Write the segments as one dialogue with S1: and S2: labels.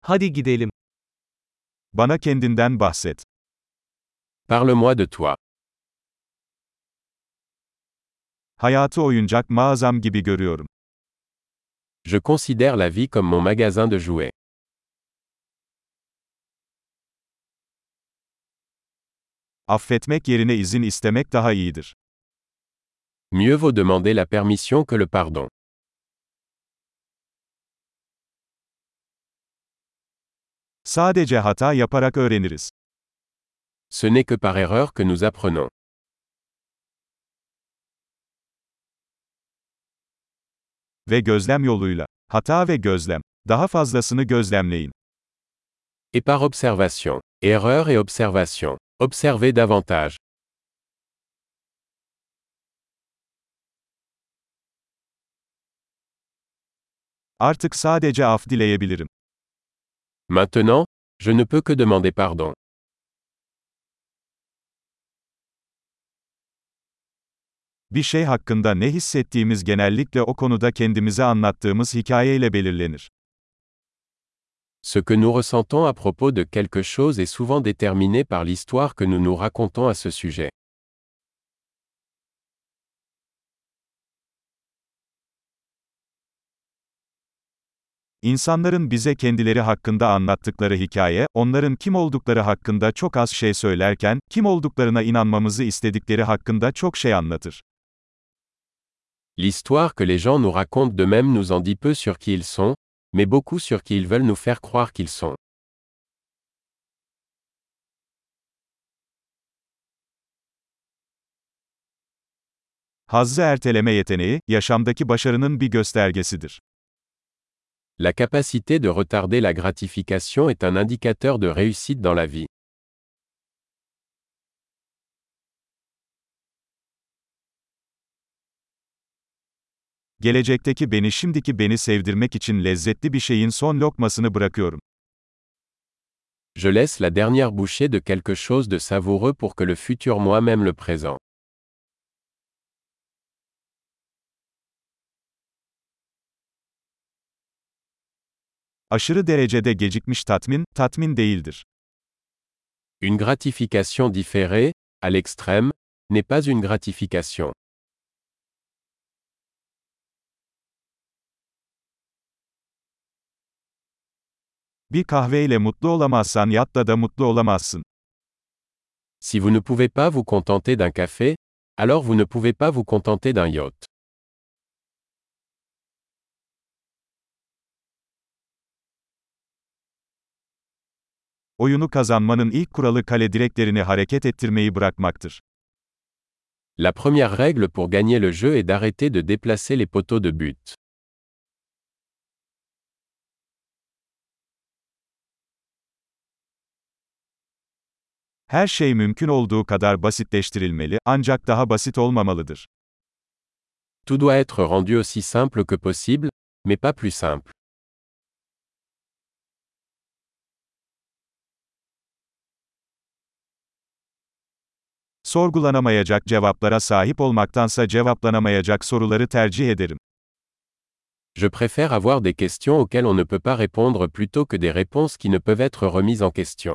S1: Hadi gidelim.
S2: Bana kendinden bahset.
S3: Parle-moi de toi.
S2: Hayatı oyuncak mağazam gibi görüyorum.
S3: Je considère la vie comme mon magasin de jouets.
S2: Affetmek yerine izin istemek daha iyidir.
S3: Mieux vaut demander la permission que le pardon.
S2: Sadece hata yaparak öğreniriz.
S3: Ce n'est que par erreur que nous apprenons.
S2: Ve gözlem yoluyla. Hata ve gözlem. Daha fazlasını gözlemleyin.
S3: Et par observation. Erreur et observation. Observez davantage.
S2: Artık sadece af dileyebilirim.
S3: Maintenant, je ne peux que demander pardon.
S2: Bir şey hakkında ne hissettiğimiz genellikle o konuda kendimize anlattığımız hikayeyle belirlenir.
S3: Ce que nous ressentons à propos de quelque chose est souvent déterminé par l'histoire que nous nous racontons à ce sujet.
S2: İnsanların bize kendileri hakkında anlattıkları hikaye, onların kim oldukları hakkında çok az şey söylerken, kim olduklarına inanmamızı istedikleri hakkında çok şey anlatır.
S3: L'histoire que les gens nous racontent d'eux-mêmes nous en dit peu sur qui ils sont, mais beaucoup sur qui ils veulent nous faire croire qu'ils sont.
S2: Hazzı erteleme yeteneği, yaşamdaki başarının bir göstergesidir.
S3: La capacité de retarder la gratification est un indicateur de réussite dans la vie.
S2: Gelecekteki beni şimdiki beni sevdirmek için lezzetli bir şeyin son lokmasını bırakıyorum.
S3: Je laisse la dernière bouchée de quelque chose de savoureux pour que le futur moi m'aime le présent.
S2: Aşırı derecede gecikmiş tatmin, tatmin değildir.
S3: Une gratification différée, à l'extrême, n'est pas une gratification.
S2: Bir kahveyle mutlu olamazsan yatta da mutlu olamazsın.
S3: Si vous ne pouvez pas vous contenter d'un café, alors vous ne pouvez pas vous contenter d'un yacht.
S2: Oyunu kazanmanın ilk kuralı kale direklerini hareket ettirmeyi bırakmaktır.
S3: La première règle pour gagner le jeu est d'arrêter de déplacer les poteaux de but.
S2: Her şey mümkün olduğu kadar basitleştirilmeli, ancak daha basit olmamalıdır.
S3: Tout doit être rendu aussi simple que possible, mais pas plus simple.
S2: Sorgulanamayacak cevaplara sahip olmaktansa cevaplanamayacak soruları tercih ederim.
S3: Je préfère avoir des questions auxquelles on ne peut pas répondre plutôt que des réponses qui ne peuvent être remises en question.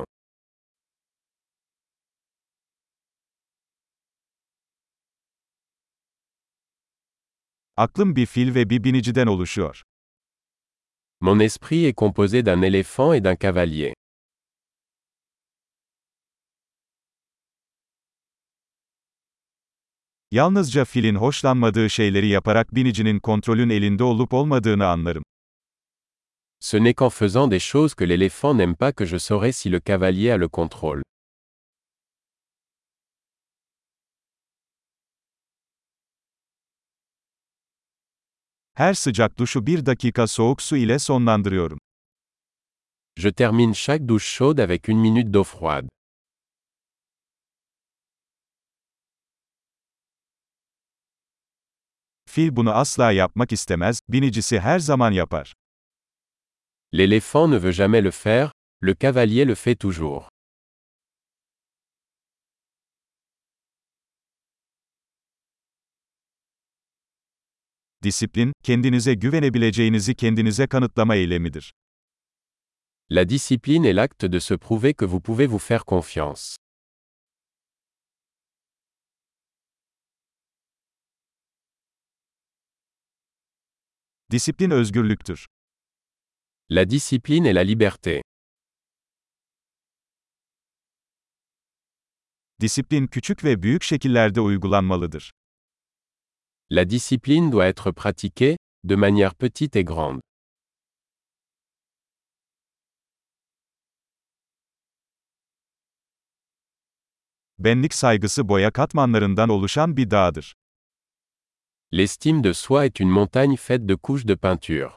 S2: Aklım bir fil ve bir biniciden oluşuyor.
S3: Mon esprit est composé d'un éléphant et d'un cavalier.
S2: Yalnızca filin hoşlanmadığı şeyleri yaparak binicinin kontrolün elinde olup olmadığını anlarım.
S3: Ce n'est qu'en faisant des choses que l'éléphant n'aime pas que je saurai si le cavalier a le contrôle.
S2: Her sıcak duşu bir dakika soğuk su ile sonlandırıyorum.
S3: Je termine chaque douche chaude avec une minute d'eau froide.
S2: Fil bunu asla yapmak istemez, binicisi her zaman yapar.
S3: L'éléphant ne veut jamais le faire, le cavalier le fait toujours.
S2: Disiplin, kendinize güvenebileceğinizi kendinize kanıtlama eylemidir.
S3: La discipline est l'acte de se prouver que vous pouvez vous faire confiance.
S2: Disiplin özgürlüktür.
S3: La discipline est la liberté.
S2: Disiplin küçük ve büyük şekillerde uygulanmalıdır.
S3: La discipline doit être pratiquée, de manière petite et grande.
S2: Benlik saygısı boya katmanlarından oluşan bir dağdır.
S3: L'estime de soi est une montagne faite de couches de peinture.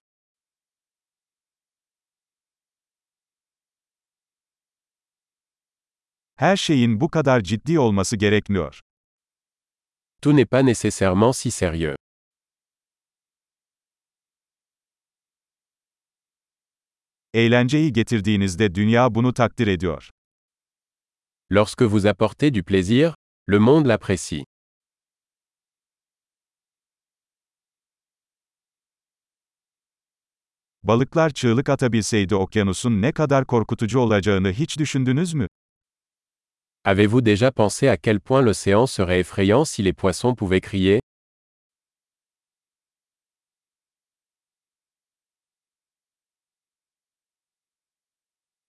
S2: Her şeyin bu kadar ciddi olması gerekmiyor.
S3: Tout n'est pas nécessairement si sérieux.
S2: Eğlenceyi getirdiğinizde dünya bunu takdir ediyor.
S3: Lorsque vous apportez du plaisir, le monde l'apprécie.
S2: Balıklar çığlık atabilseydi okyanusun ne kadar korkutucu olacağını hiç düşündünüz mü?
S3: Avez-vous déjà pensé à quel point l'océan serait effrayant si les poissons pouvaient crier?